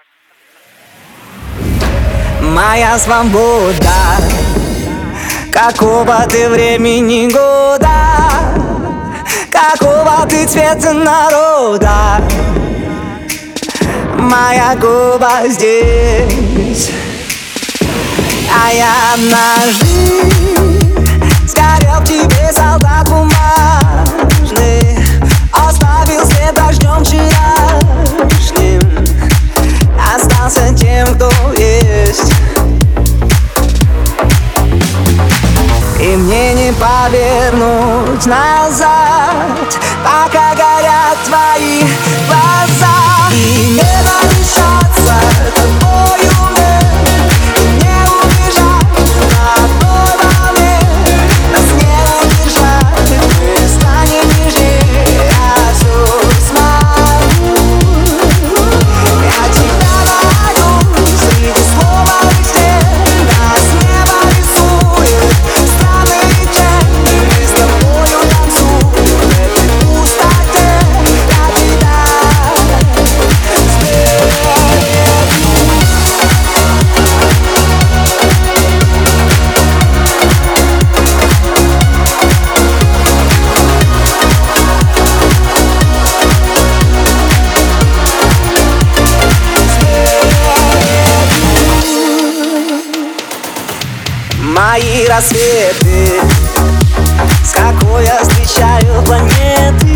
Моя свобода, какого ты времени года, какого ты цвета народа. Моя губа здесь, а я однажды сгорел в тебе, солдат бумажный, оставил след дождем вчерашним, остался тем, кто есть. И мне не повернуть назад, пока горят твои глаза. И не дышаться тобою мне, не убежать на одной волне. Нас не удержать, мы станем нежнее, я все смогу. Я тебя боюсь, среди слова и стен, нас небо рисует странные тени. Мы с тобою танцуем в этой пустоте, я тебя мои рассветы, с какой я встречаю планеты.